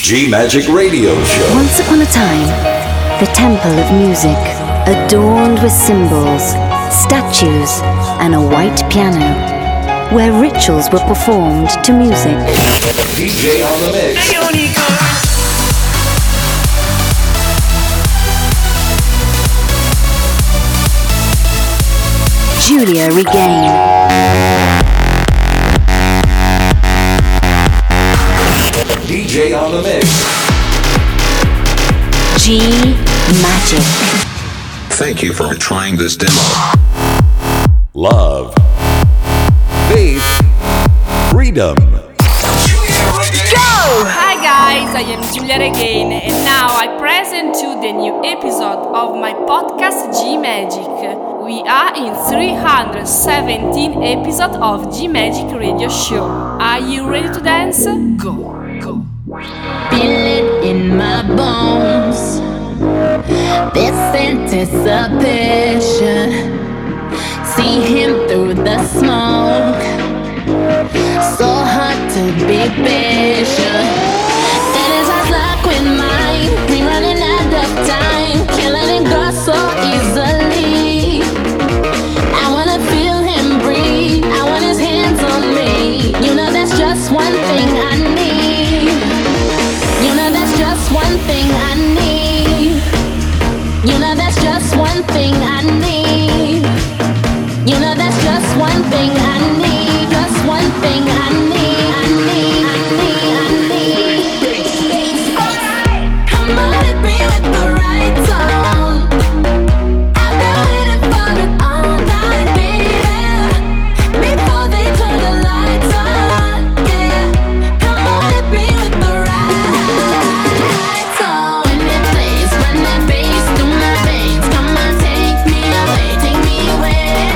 G-Magic Radio Show. Once upon a time, the temple of music, adorned with symbols, statues, and a white piano, where rituals were performed to music. DJ on the mix. Giulia Regain. DJ on the mix. G-Magic. Thank you for trying this demo. Love. Faith. Freedom. Go! Hi guys, I am Giulia Regain and now I present you the new episode of my podcast G-Magic. We are in 317 episodes of G-Magic Radio Show. Are you ready to dance? Go! Feel it in my bones, this anticipation. See him through the smoke, so hard to be patient. That is our luck with mine, we running out of time, killing it go so easily. I wanna feel him breathe, I want his hands on me. You know that's just one thing I need. You know that's just one thing I need. You know that's just one thing I need. You know that's just one thing I need. Just one thing I need. I need, I need, I need. Come on, hit me with the right tone. I've been waiting for it all night, baby. Before they turn the lights on, yeah. Come on, hit me with the right tone. When it plays, run that bass through my veins. Come on, take me away, take me away.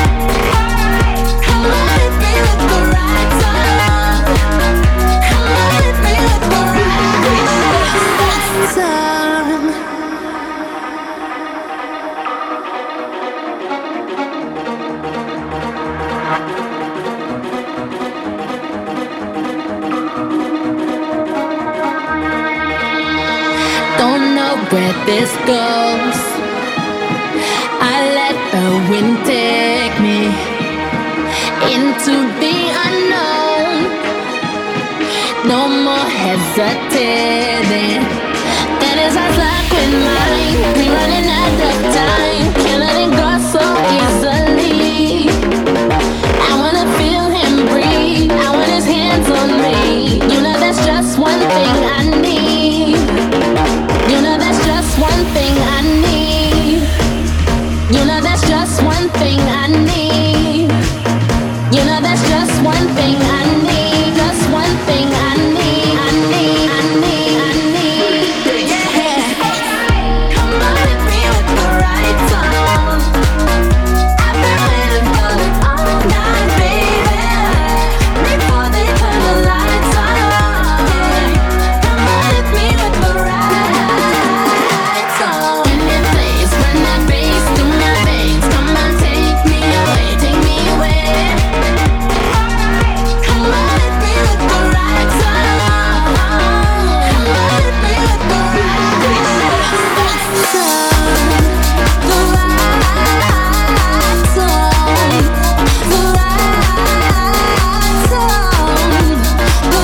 Come on, hit me with the right tone. Come on, hit me with the right tone. Don't know where this goes. I let the wind take me into the unknown. No more hesitating. That is our luck with mine. We running out of time, killing it go so easily. I wanna feel him breathe, I want his hands on me. You know that's just one thing I need. You know that's just one thing I need. You know that's just one thing I need. You know that's just one thing I need. Just one thing I need. I need, I need, I need. Yeah. Come on, hit me with the right tone. I've been waiting for it all night, baby. Before they turn the lights on, yeah. Come on, hit me with the right tone. When it plays, run that bass through my veins. Come on, take me away, take me away. Come on, hit me with the right tone. Come on, hit me with the right tone. The right tone. The right tone. The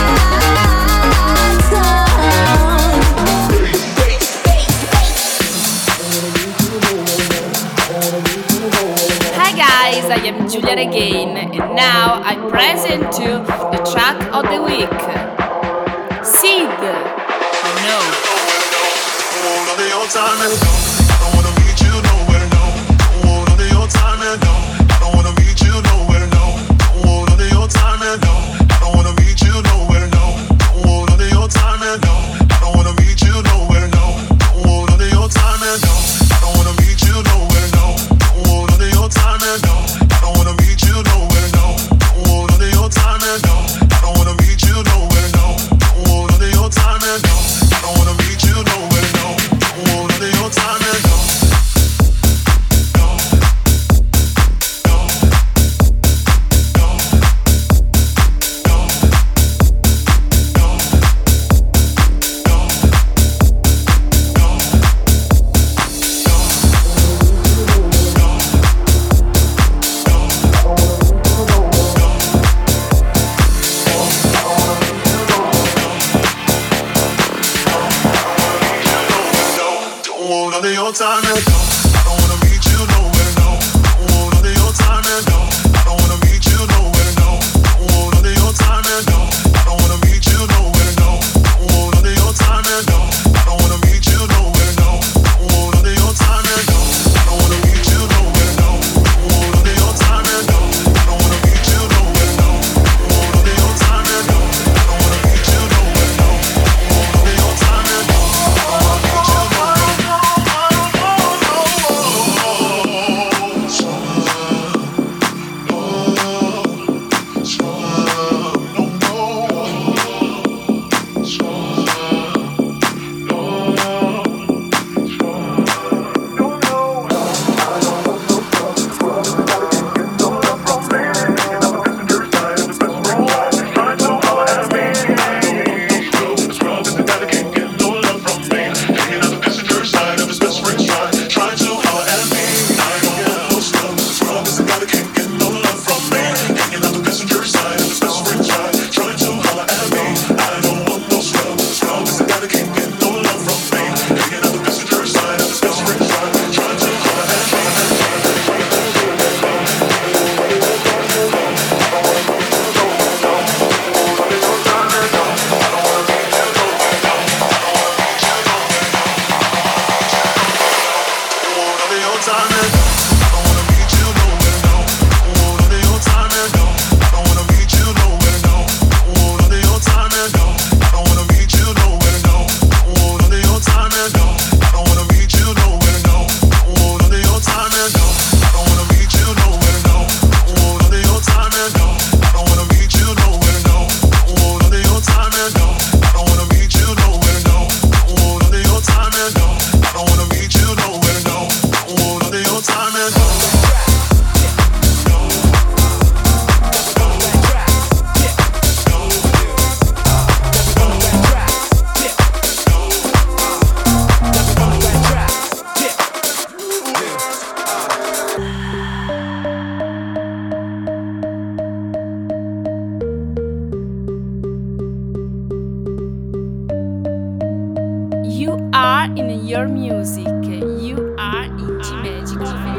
right tone. Hi guys, I am Giulia Regain and now I present you the track of the week. Sid. No. Time are in your music. You are in G-Magic.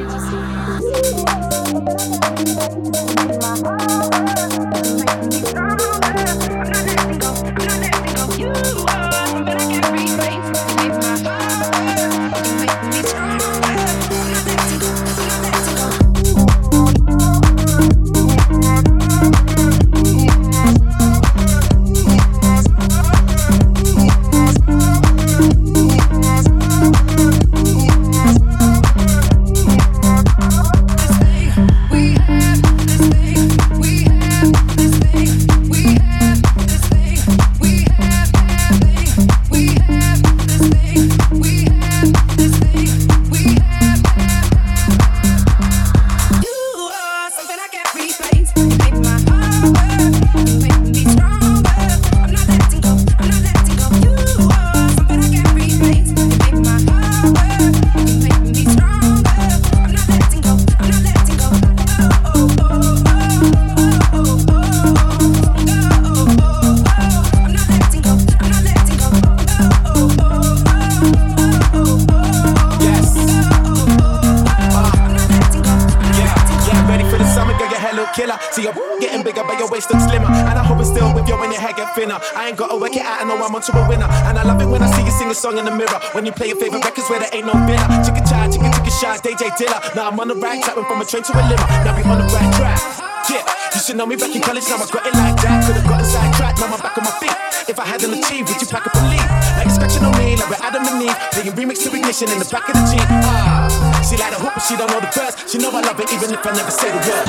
I ain't gotta work it out, I know I'm onto a winner. And I love it when I see you sing a song in the mirror. When you play your favorite records where there ain't no filler. Chicka chai, chicka shot, DJ Dilla. Now I'm on the right track, went from a train to a limo. Now we on the right track. Yeah, you should know me back in college, now I got it like that. Could've gotten sidetracked, now I'm back on my feet. If I hadn't achieved, would you pack up and leave? Like scratching on me, like we're Adam and Eve. Playing remix to Ignition in the back of the Jeep. She like the hook, but she don't know the verse. She know I love it even if I never say the word.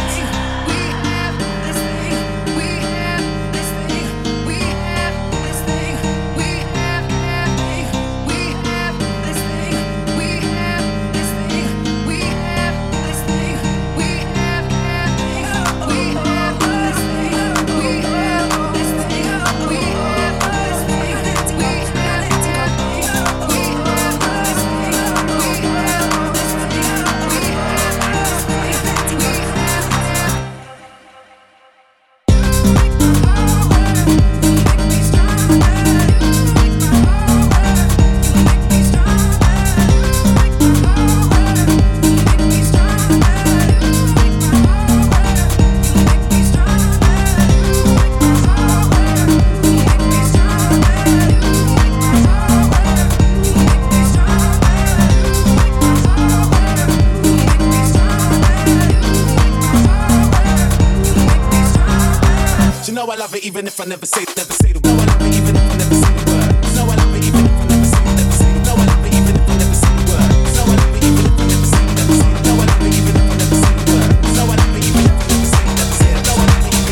Even if I never say the word. No, I love it even if I never say the word. No, I love it even if I never say the word. No, I love it even if I never say the word. No, I love it even if I never say the word. No, I love it even if I never say the word. No, I love it even if I never say the word. No, I love it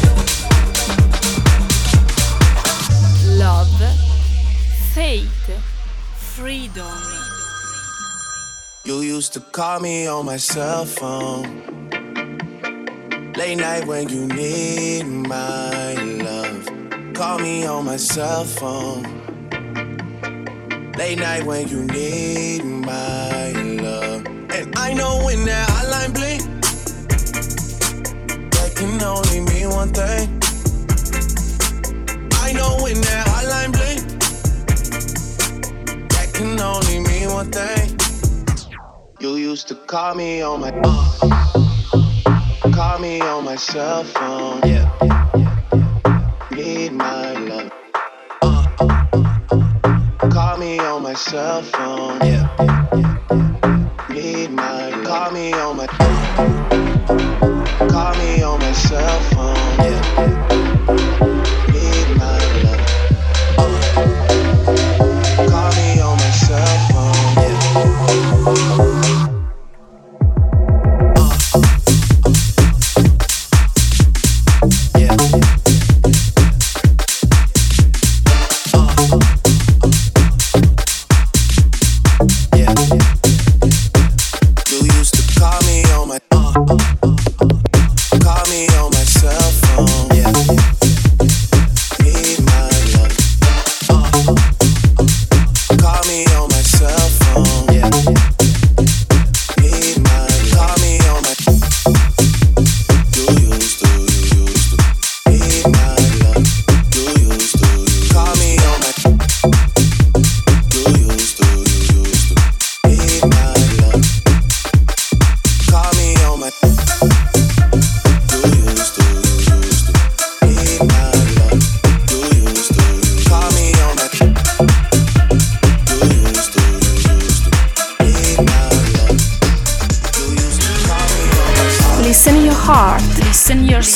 even. Love, faith, freedom. You used to call me on my cell phone. Late night when you need my love. Call me on my cell phone. Late night when you need my love. And I know when that hotline blink, that can only mean one thing. I know when that hotline blink, that can only mean one thing. You used to call me on my call me on my cell phone. Yeah. Need my love. Call me on my cell phone. Yeah. Need my love. Call me on my cell phone. Yeah. Need my love. Call me on my cell phone. Yeah. Call me on my cell phone.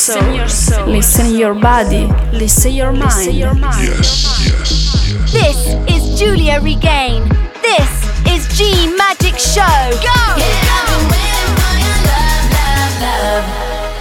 listen your body, listen your mind. This is Julia Regain. This is G Magic Show. Go! Yeah, I've been waiting for your love, love, love.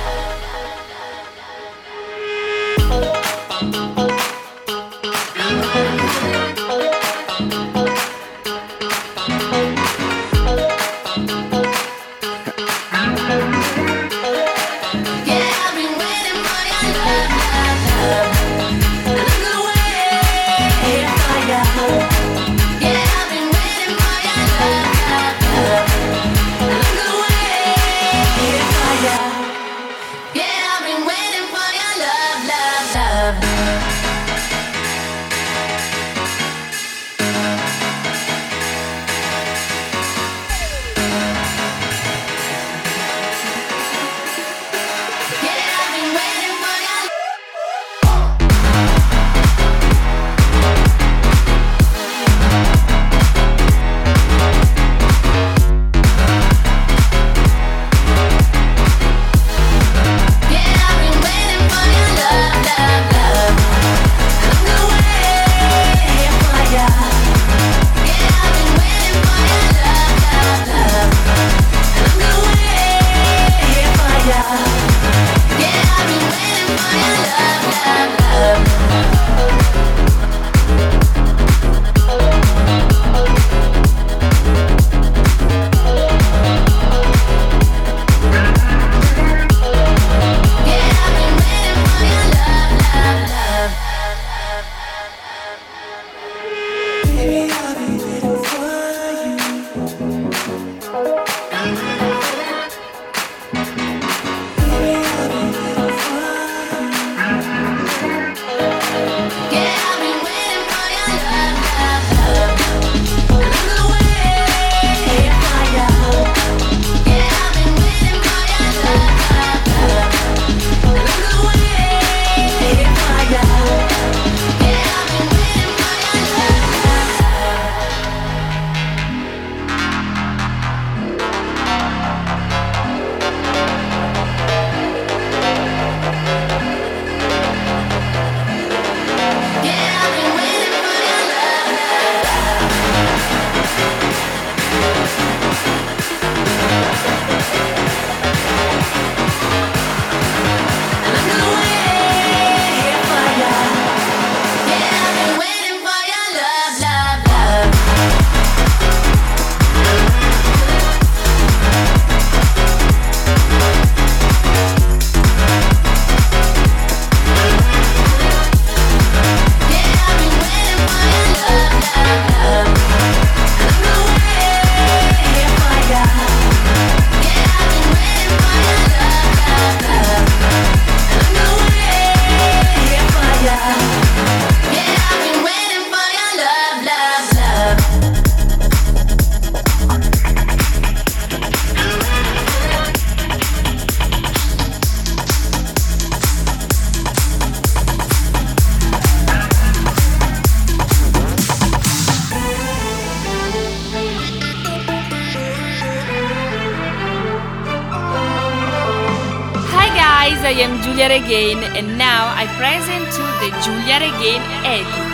I am Julia Regain and now I present you the Julia Regain edit.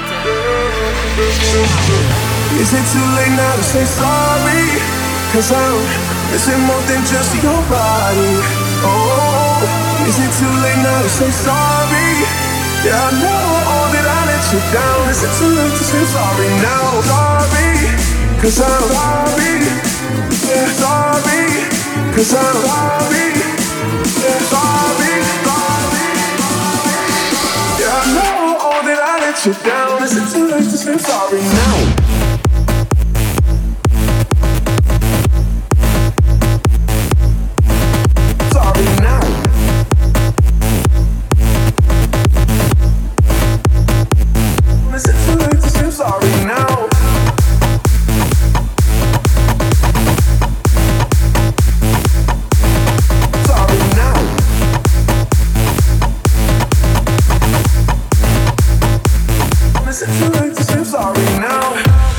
Is it too late now to say sorry? Cause I'm missing more than just your body. Oh, is it too late now to say sorry? Yeah, I know that I let you down. Is it too late to say sorry now? Sorry, cause I'm sorry. Yeah, sorry, cause I'm sorry. Yeah, sorry, sorry. Yeah, I know that I let you down. Is it too late to say sorry now?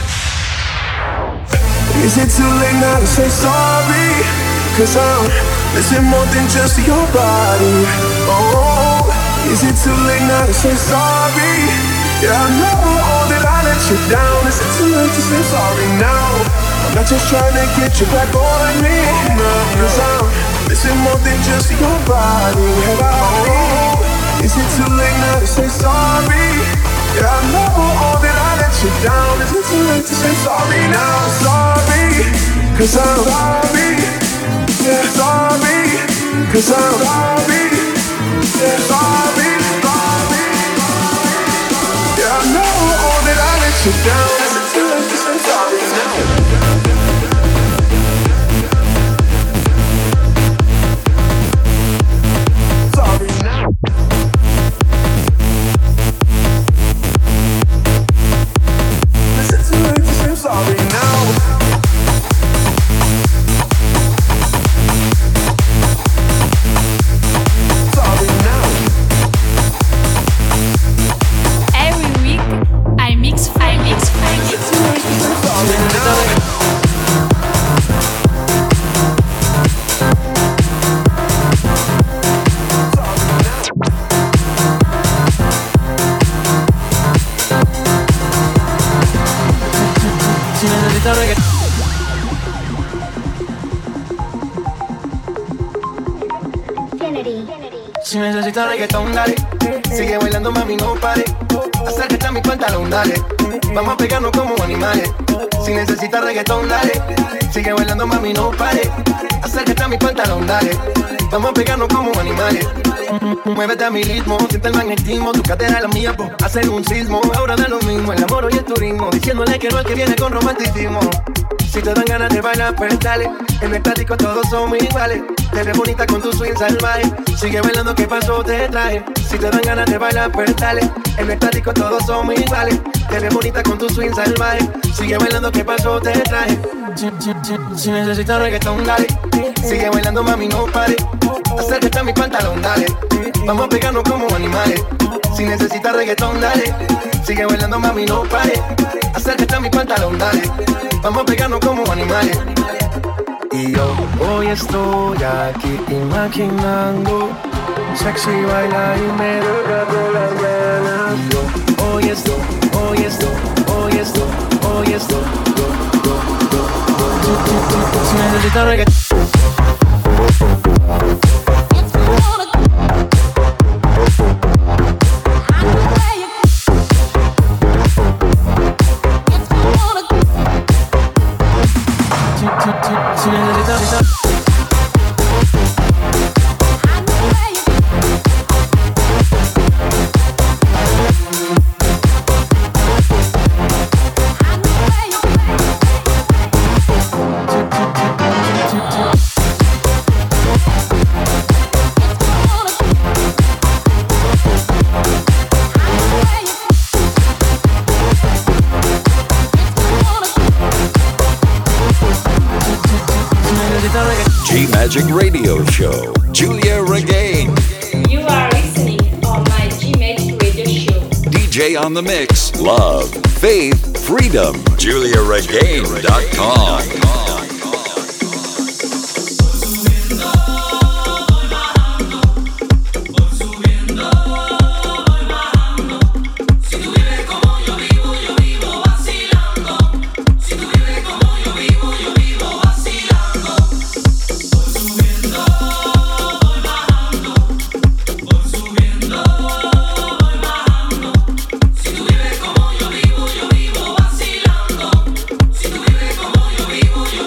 Is it too late now to say sorry? Cause I'm missing more than just your body. Oh, is it too late now to say sorry? Yeah, I know that I let you down. Is it too late to say sorry now? I'm not just trying to get you back on me, no, 'cause I'm missing more than just your body. Oh, is it too late now to say sorry? Yeah, I know that I let you down. Is it too late to say sorry now? Sorry, 'cause I'm sorry. Yeah, sorry, 'cause I'm sorry. Yeah, sorry, sorry. Yeah, I know that I let you down. Is it too late to say sorry now? Si necesitas reggaetón, dale. Sigue bailando, mami, no pare. Acércate a mi pantalón, dale. Vamos a pegarnos como animales. Si necesitas reggaetón, dale. Sigue bailando, mami, no pare. Acércate a mi pantalón, dale. Vamos a pegarnos como animales. Muévete a mi ritmo, siente el magnetismo. Tu cadera es la mía, po, hacer un sismo. Ahora da lo mismo, el amor y el turismo. Diciéndole que no es que viene con romanticismo. Si te dan ganas de bailar, pues dale. En el tático todos somos iguales. Te ves bonita con tu swing salvaje. Sigue bailando, ¿qué pasó? Te traje. Si te dan ganas de bailar, pues dale. En el tático todos somos iguales. Te ves bonita con tu swing salvaje. Sigue bailando, ¿qué pasó? Te traje. Si necesitas reggaetón, dale. Sigue bailando, mami, no pare. Acércate a mi pantalón, dale. Vamos a pegarnos como animales. Si necesitas reggaetón, dale. Sigue bailando, mami, no pare. Acércate a mi pantalón, dale. Vamos a pegarnos como animales. Y yo hoy estoy aquí imaginando sexy baila y me regalo las ganas. Y yo hoy estoy si necesitas reggaetón. G-Magic Radio Show, Giulia Regain. You are listening on my G-Magic Radio Show. DJ on the mix, love, faith, freedom. GiuliaRegain.com. Yo vivo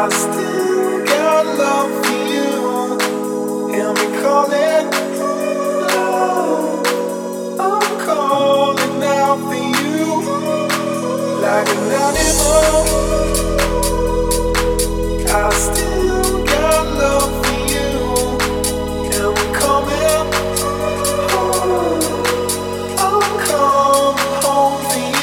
I still got love for you. Hear me calling, love. I'm calling out for you like an animal. I still got love for you. Hear me coming home. I'm coming home for you.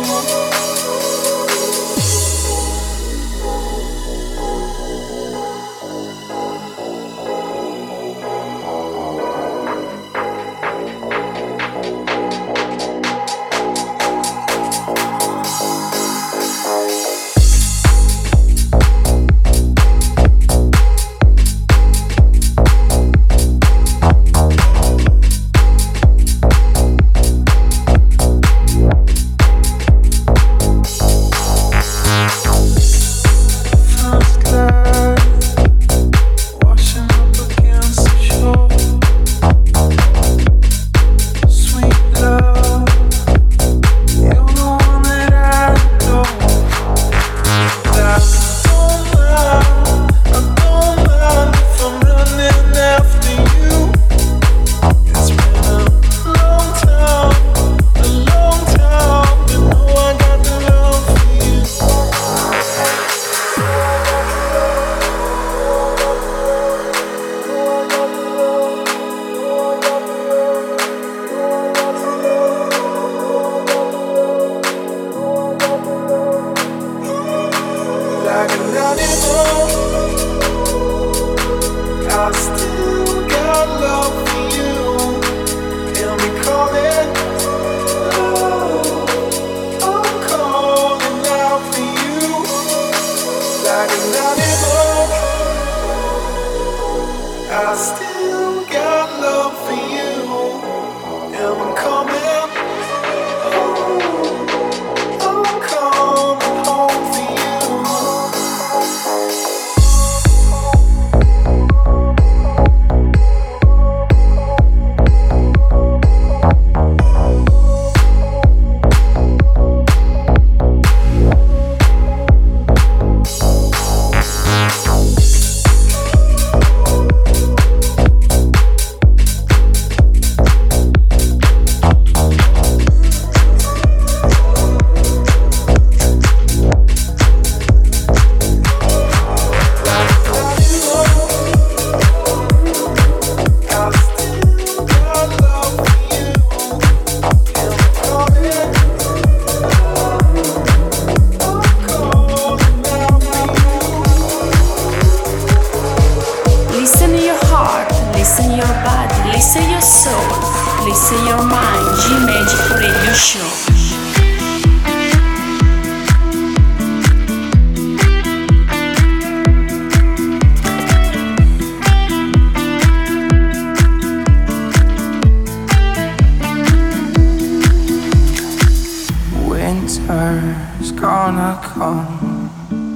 Winter's gonna come.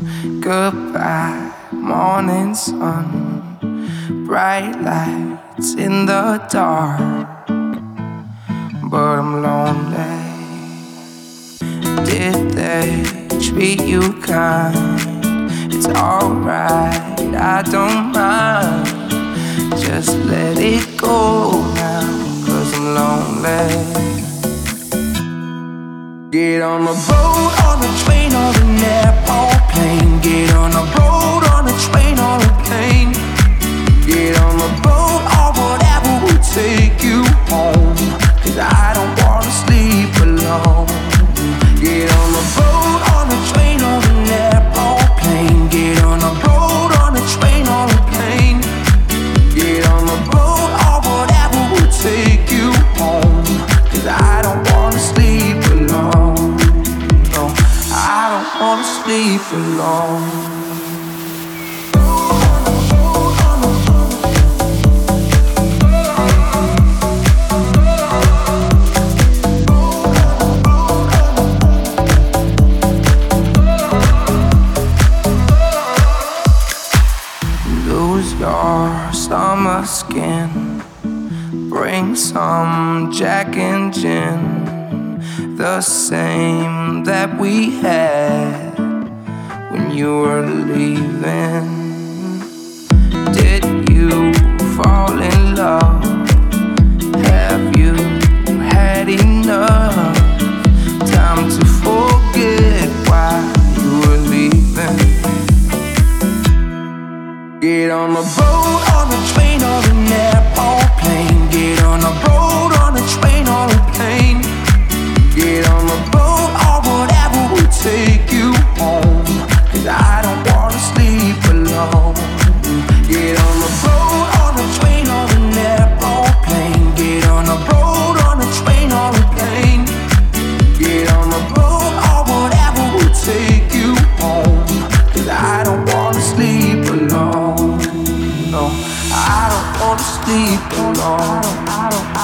Goodbye, morning sun. Bright lights in the dark, but I'm lonely. Did they treat you kind? It's alright, I don't mind. Just let it go now, 'cause I'm lonely. Get on a boat, on a train, or an airplane. Get on a boat, on a train, or a plane. Get on a boat, or whatever will take you home, 'cause I don't wanna sleep alone. Get on a boat, on a train, or an airplane. Get on a boat, on a train, or a plane. Get on a boat, or whatever will take you home, 'cause I don't wanna sleep alone. No, I don't wanna sleep alone. Lose your summer skin. Bring some Jack and gin, the same that we had. We when you were leaving? Did you fall in love? Have you had enough time to forget why you were leaving? Get on a boat, on a train, or an airplane. Get on a boat, on a train, or a plane. Get on a boat or whatever will take you home, 'cause I don't wanna sleep alone. Get on a boat, on a train, or an airplane. Get on a boat, on a train, or a plane. Get on a boat or whatever will take you home, 'cause I don't wanna sleep alone. No, I don't wanna sleep alone. I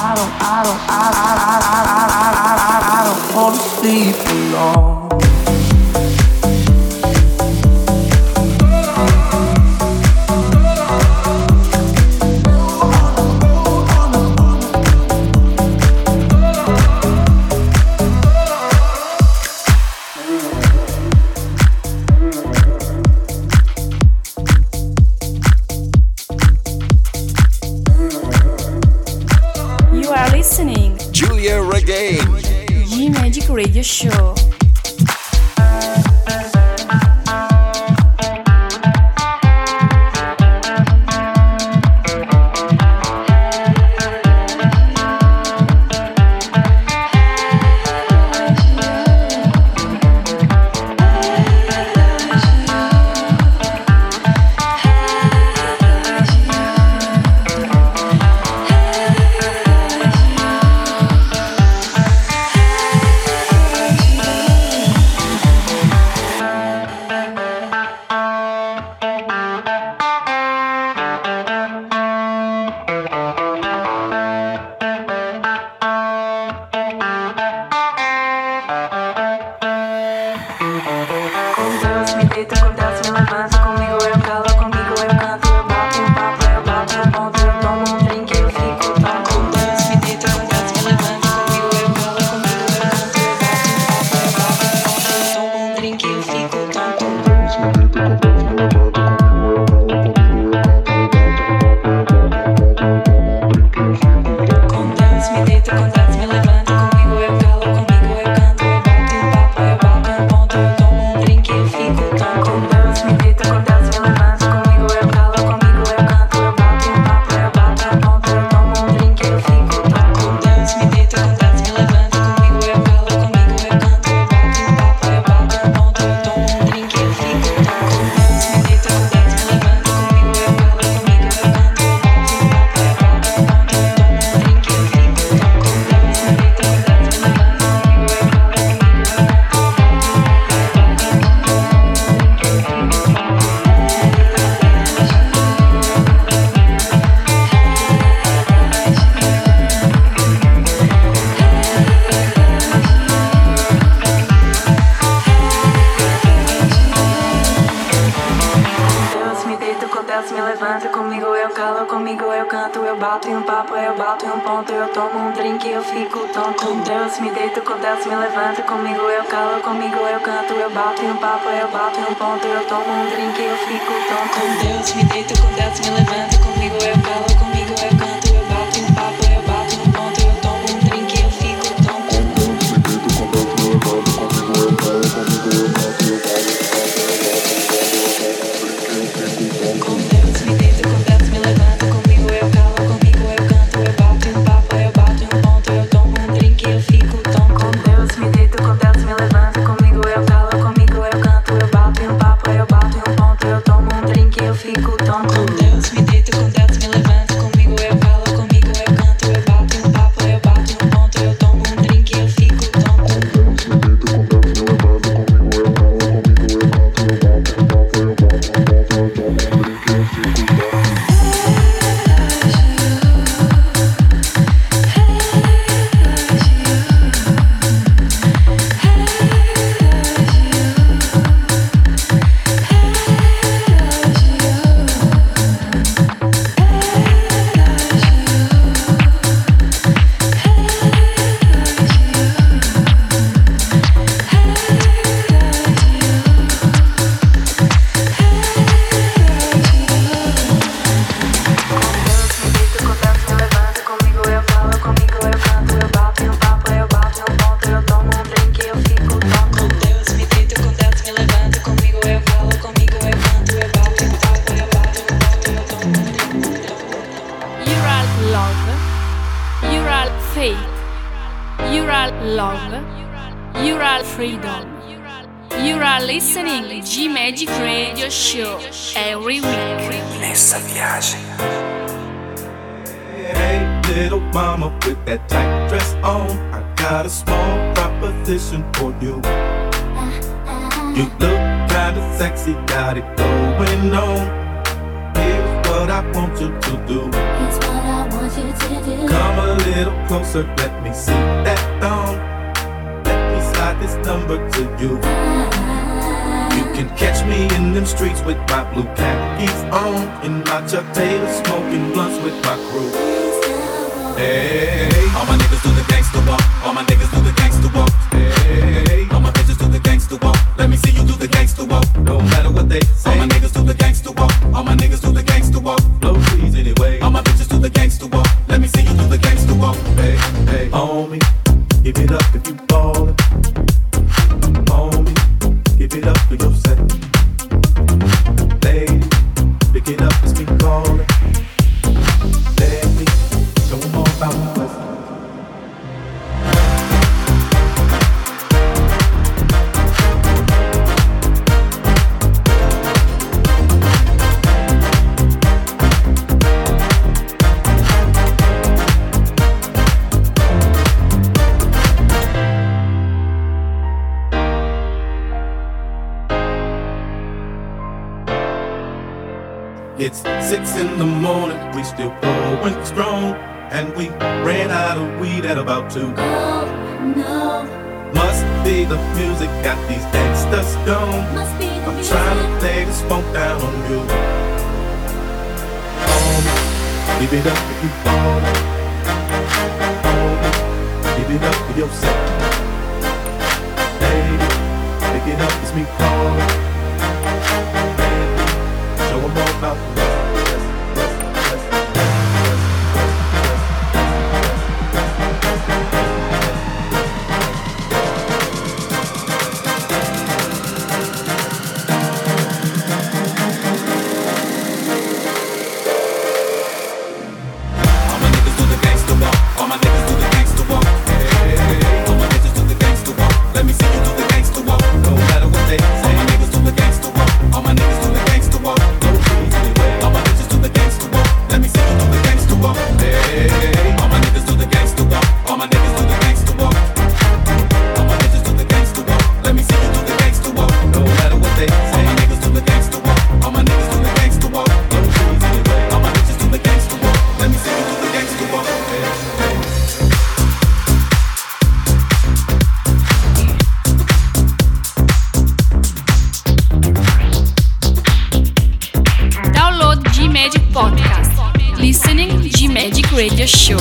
don't wanna sleep alone. Giulia Regain. G-Magic Radio Show. Fico tão com Deus, me deito love, Ural freedom. You are listening G Magic Radio Show every week. Nessa viagem. Hey, little mama with that tight dress on, I got a small proposition for you. You look kinda sexy, got it going on. Here's what I want you to do. Come a little closer, let me see that thong. Let me slide this number to you. You can catch me in them streets with my blue khakis on, in my Chuck Taylor, smoking blunts with my crew. Hey, all my niggas do the gangsta walk. All my niggas do the gangsta walk. Hey, all my bitches do the gangsta walk. Let me see you do the gangsta walk. No matter what they say. All my niggas do the gangsta walk. All my niggas do the gangsta walk. Blow trees anyway. All my bitches do the gangsta walk. Let me see you do the gangsta walk. Hey, hey, homie, give it up if you ballin'. Homie, give it up for yourself. Lady, pick it up, it's me callin'. Let me show 'em all about my West. It's 6 in the morning, we still going strong, and we ran out of weed at about 2. Oh, no. Must be the music got these gangsters gone. I'm trying to lay this funk down on you. Homie, give it up if you ballin'. Homie, give it up for yourself. Baby, pick it up, it's me callin'. Show 'em all about the West. Radio Show.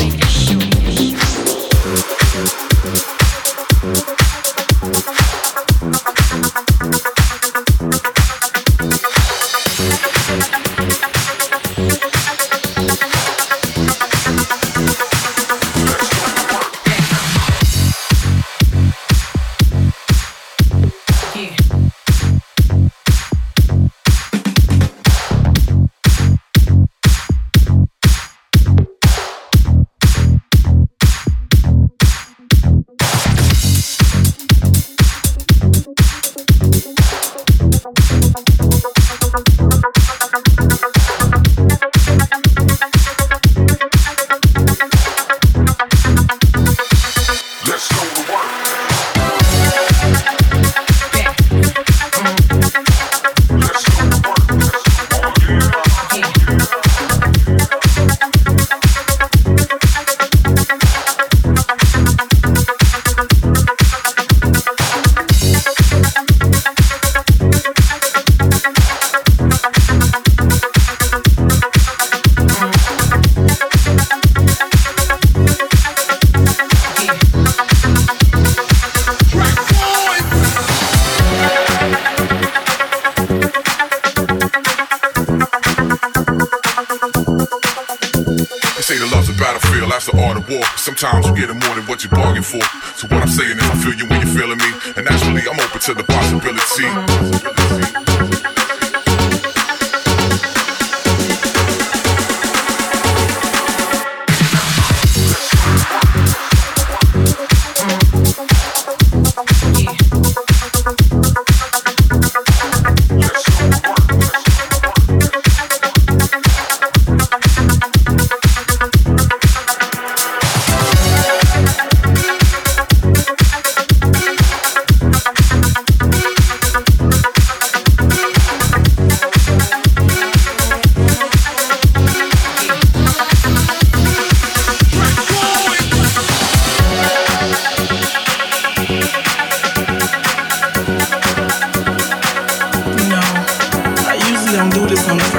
Sometimes you get more than what you bargain for. So what I'm saying is I feel you when you're feeling me, and naturally I'm open to the possibility.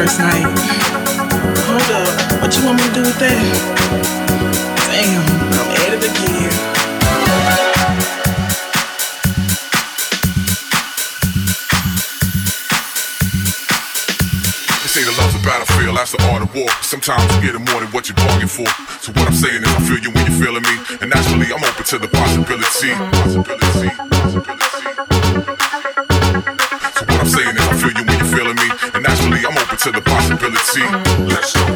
first night. Hold up, what you want me to do with that? Damn, I'm at it again. They say the love's a battlefield, that's the art of war. Sometimes you get more than what you bargain for. So what I'm saying is I feel you when you're feeling me, and naturally I'm open to the possibility. So what I'm saying is I feel you when you're feeling me, and naturally I'm open to the possibility. Let's go.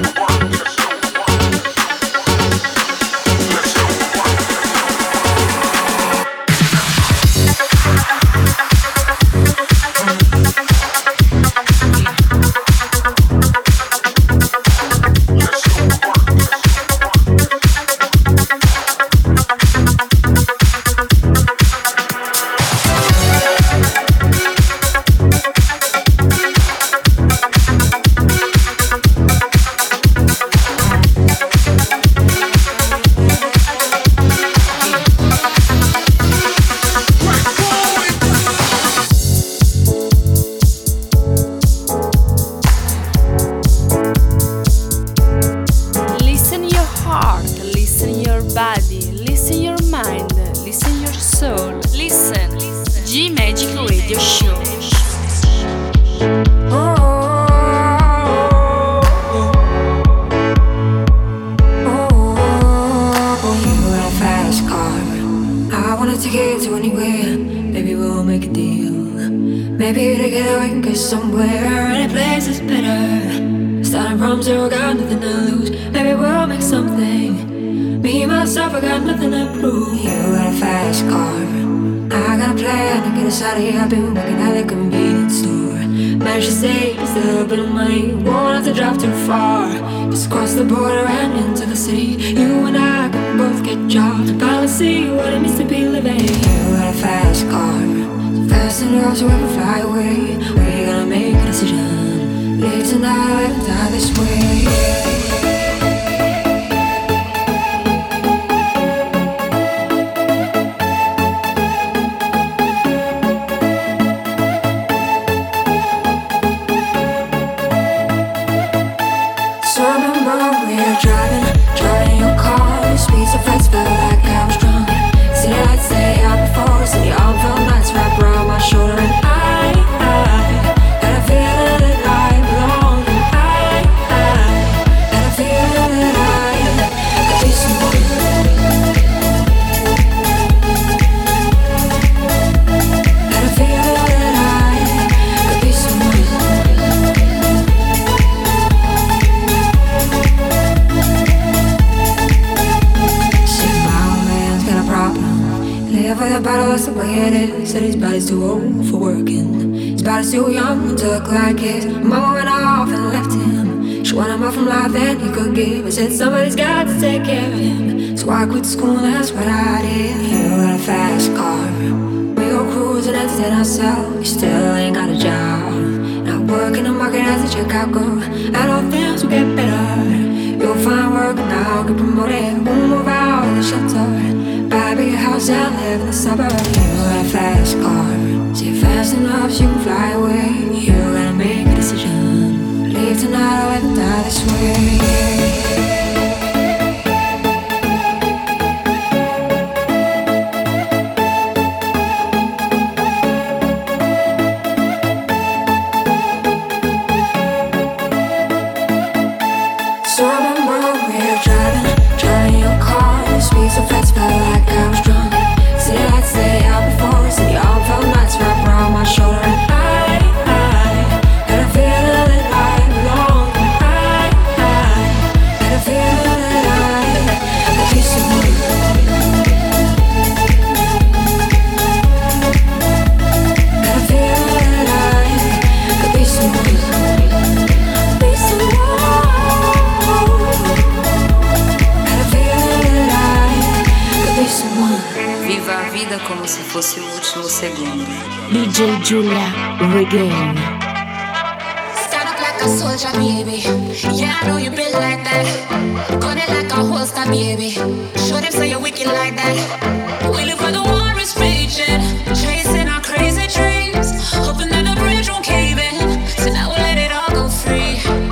I've been working at the convenience store. Managed to save just a little bit of money. Won't have to drive too far. Just cross the border and into the city. You and I can both get jobs. Finally see what it means to be living. You got a fast car, so fast enough so we can fly away. We're gonna make a decision. Live tonight and die this way. Said his body's too old for working. His body's too young to look like his. Mama went off and left him. She wanted more from life than he could give. I said somebody's got to take care of him. So I quit school and that's what I did. You got a fast car. We go cruising and entertain ourselves. You still ain't got a job. Not working the market as a checkout girl. And all things will get better. You'll find work and I'll get promoted. We'll move out of the shelter. Buy a big house and live in the suburbs. You got a fast car. See fast enough so you can fly away. You gotta make a decision. Leave tonight or ever die this way. Como se fosse o último segundo. DJ Giulia Regain. Stand up like a soldier, baby. Yeah, I know you been like that. Gun it like a holster, baby. Show them say you're wicked like that. We live where the war is raging, chasing our crazy dreams, hoping that the bridge won't cave in. So now we'll let it all go free.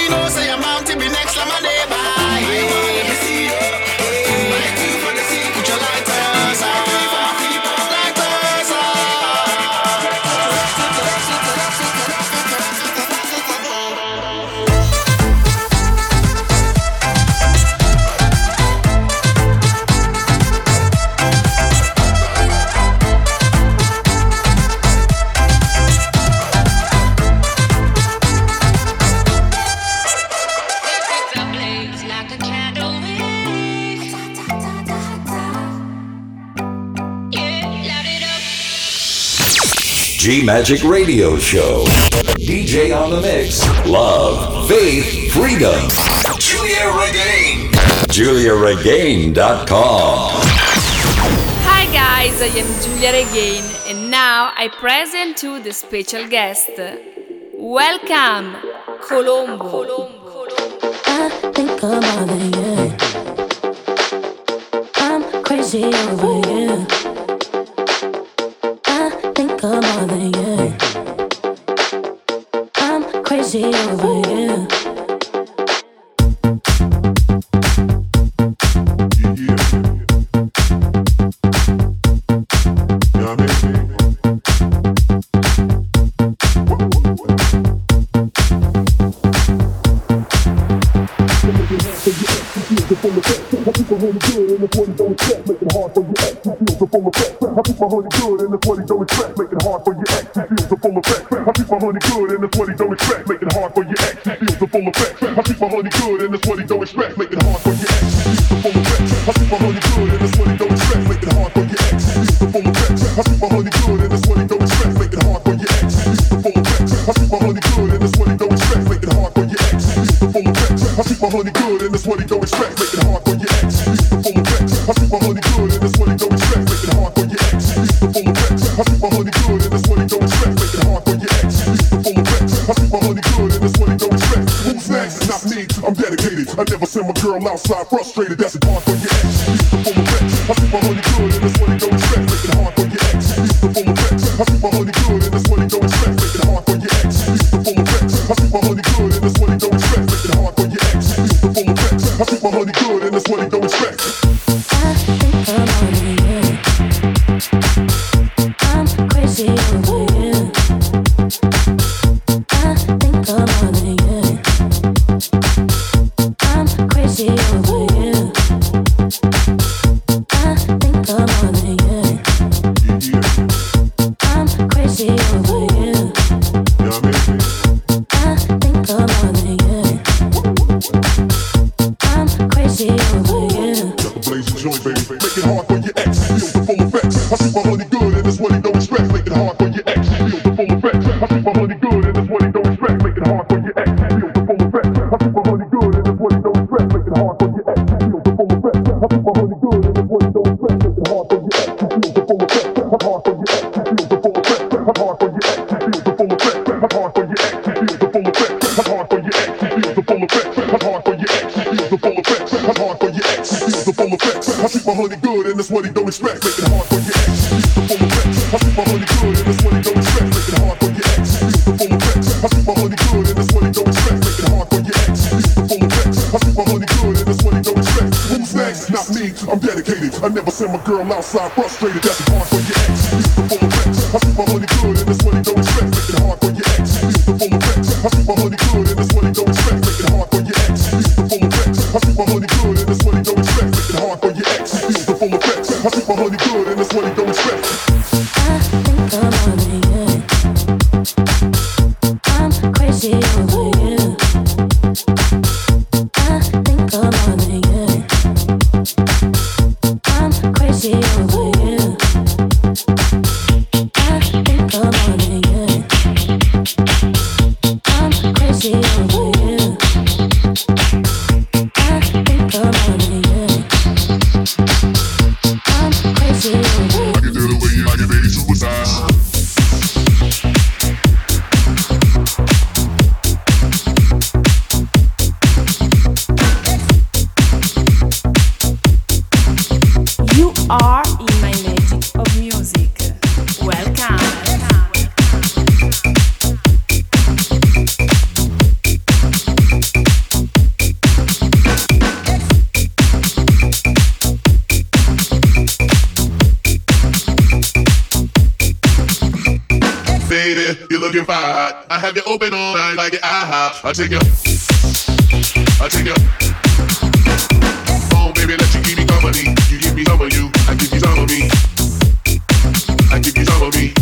know say I'm bound to be next like my neighbor. Put your lighters on. G Magic Radio Show. DJ on the mix. Love, faith, freedom. Julia Regain. JuliaRegain.com. Hi guys, I am Julia Regain and now I present to the special guest. Welcome, Colombo. I think I'm more than you. I'm crazy over you. I'm more than you. I'm crazy over you. I keep my honey good and that's what he don't expect, making hard for your ex. He feels the full effect. I keep my honey good and that's what he don't expect, making hard for your ex. He feels the full effect. I keep my honey good and that's what he don't expect, making hard for your ex. He feels the full effect. I keep my honey good and that's what he don't expect, making hard for your ex. He feels the full effect. I keep my honey good and that's what he don't expect, making hard for your ex. He feels the full effect. I keep my honey good and that's what he don't expect, making hard for your ex. He feels the full effect. I keep my honey good and that's what he don't expect, making hard for your ex. He feels the full effect. I keep my honey good and that's what he don't expect, making hard for your ex. He feels the full effect. I keep my honey good and that's what he don't expect, making hard for your ex. He feels the full effect. I keep my honey good and that's what he don't expect. Who's next? Not me. I'm dedicated. I never send my girl outside frustrated. That's it hard for your ex. He feels the full effect. I keep my honey good and that's what he don't expect, making hard for your ex. He feels the full effect. I keep my honey good and that's what he don't expect, making hard for your ex. He feels the full effect. I keep my honey good and that's what he don't expect, making hard for your ex. He feels the full effect. I keep my honey good and that's what he don't expect. I think I'm more than you. I'm crazy over you. I think I'm more than you. I'm crazy over you. I think I'm more than you. I'm crazy over you. I think I'm more than you. I'm crazy over you. Blaze and joint, baby. Make it hard for your ex. Feel the full effects. I keep my honey good and that's what he don't expect. Make it hard for your ex. Feel the full effects. I keep my honey good and that's what he don't expect. Make it hard for your ex. Feel the full effects. I keep my honey good and that's what he don't expect. Make it hard for your ex. Feel the full effects. I keep my honey good and that's what he don't expect. Make it hard for your ex. Feel the full effects. Hard for your ex. Feel the full effects. Hard for your ex. Feel the full effects. Hard for your ex. Feel the full effects. Hard for your ex. Feel the full effects. Hard for your ex. Feel the full effects. Hard for your ex. Feel the full effects. I keep my honey good and that's what he don't expect. Make it hard for your ex. Feel the full effects. I keep my honey good and that's what he don't expect. Make it hard for your ex. Feel the full effects. I keep my honey good and that's what he don't expect. Make it hard for your ex. Feel the full effects. I keep my honey good and that's what he don't expect. Who's next? Not me. I'm dedicated. I never send my girl outside frustrated. That's hard for your ex. Feel the full effects. I keep my honey good and that's what he don't expect. Make it hard for your ex. Feel the full effects. I keep my honey good and that's what he don't expect. Make it hard for your ex. Feel the full effects. I keep my honey good and that's what he don't expect. Make it hard for your ex. Feel the full effects. I keep my honey good and that's what he don't expect. I think I'm more than you. I'm crazy over you. I think I'm more than you. I'm crazy over you. I think I'm more than you. I'm crazy over you. I think I'm more than you. I'm crazy. looking fine. I have you open all night like an IHOP. I'll take you home, baby, let you keep me company. You give me some of you, I give you some of me. I give you some of me.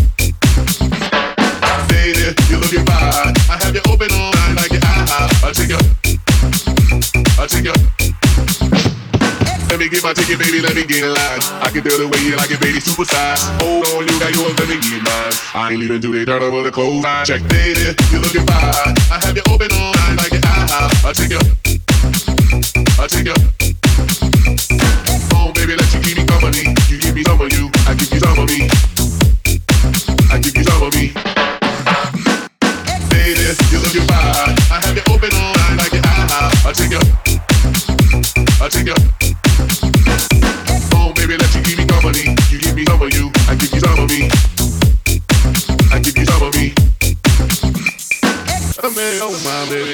Baby, you're looking fine. I have you open all night like an IHOP. I'll take you. Let me get my ticket, baby, let me get in line. I can tell the way you like it, baby, super size. Hold on, you got yours, let me get mine. I ain't leaving till they turn over the clothesline. Check, baby, you're looking fine. I have you open all night like an IHOP. I'll take you. Home, baby, let you keep me company. You give me some of you, I give you some of me. I give you some of me. Baby, you're looking fine. I have you open all night like an IHOP. I'll take you. Home, baby, let you keep me company. You give me some of you, I give you some of me. I give you some of me. I'm in, oh my baby.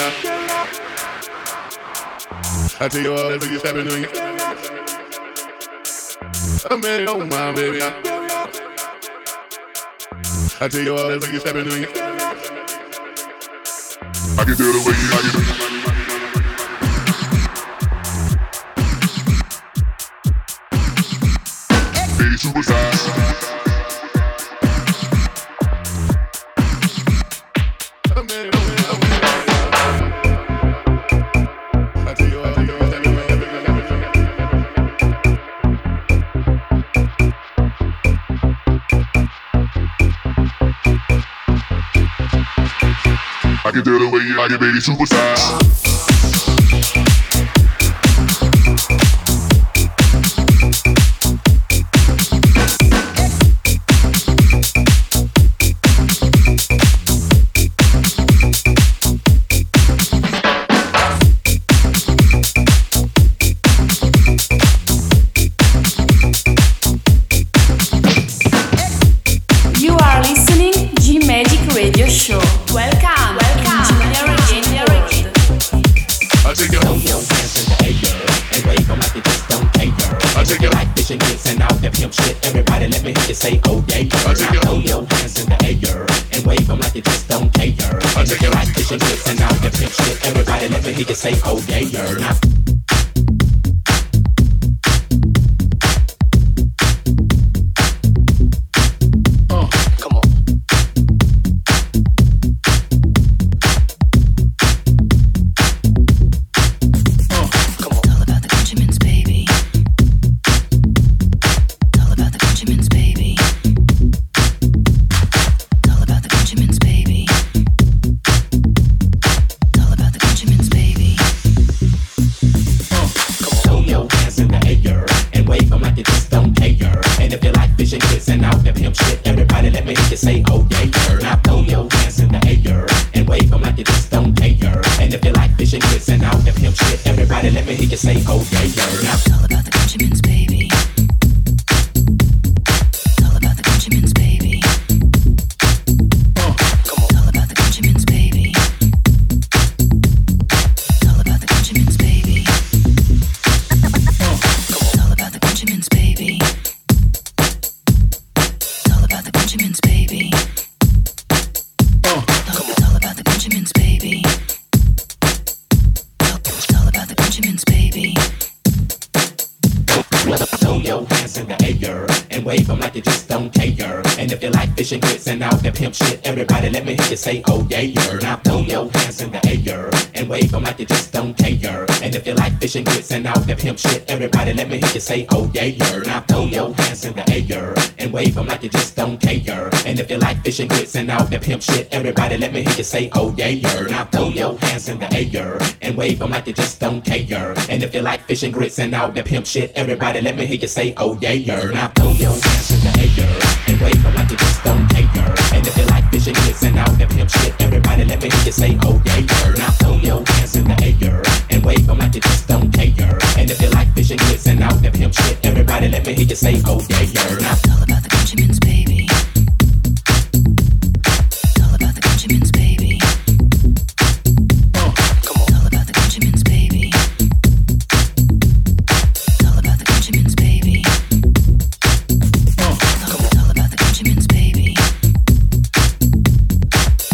I tell you all that you stepping on you. I'm in, oh my baby. I tell you all that you stepping on you. I can tell the way you like it. Superstar. I can tell the way you like it, baby, superstar. Say oh yeah, now throw your hands in the air and wave them like you just don't care. And if you like fishing grits and all that pimp shit, everybody let me hear you say oh yeah, now. Fishing grits and all that pimp shit, everybody let me hear you say oh yeah, now throw your hands in the air and wave them like you just don't care. And if you like fishing grits and all that pimp shit, everybody let me hear you say oh yeah, now throw your hands in the air and wave them like you just don't care. And if you like fishing grits and all that pimp shit, everybody let me hear you say oh yeah, now throw your hands in the air and wave them like you just don't care. And if you like fishing grits and all that pimp shit, everybody let me hear you say oh yeah, now throw your hands in the air and wave them like you just don't care. And if you like fishing grits and all that pimp shit, everybody let me hear you say oh yeah, now throw your hands in the air and wave them like you just don't care. And if you like fishing grits and all that pimp shit, everybody let me hear you say oh yeah, now. It's all about the Benjamins, baby. It's all about the Benjamins, baby. Come on. It's all about the Benjamins, baby. It's all about the Benjamins, baby. It's all about the Benjamins, baby.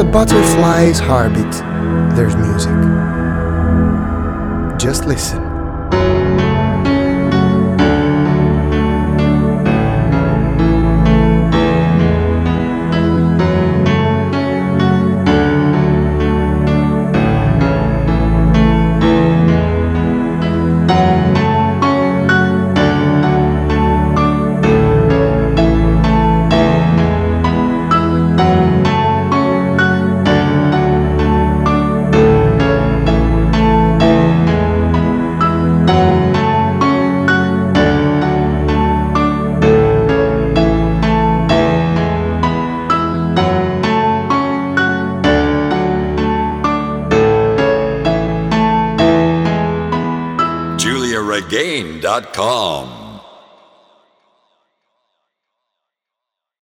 butterfly's heartbeat, there's music. Just listen. JuliaRegain.com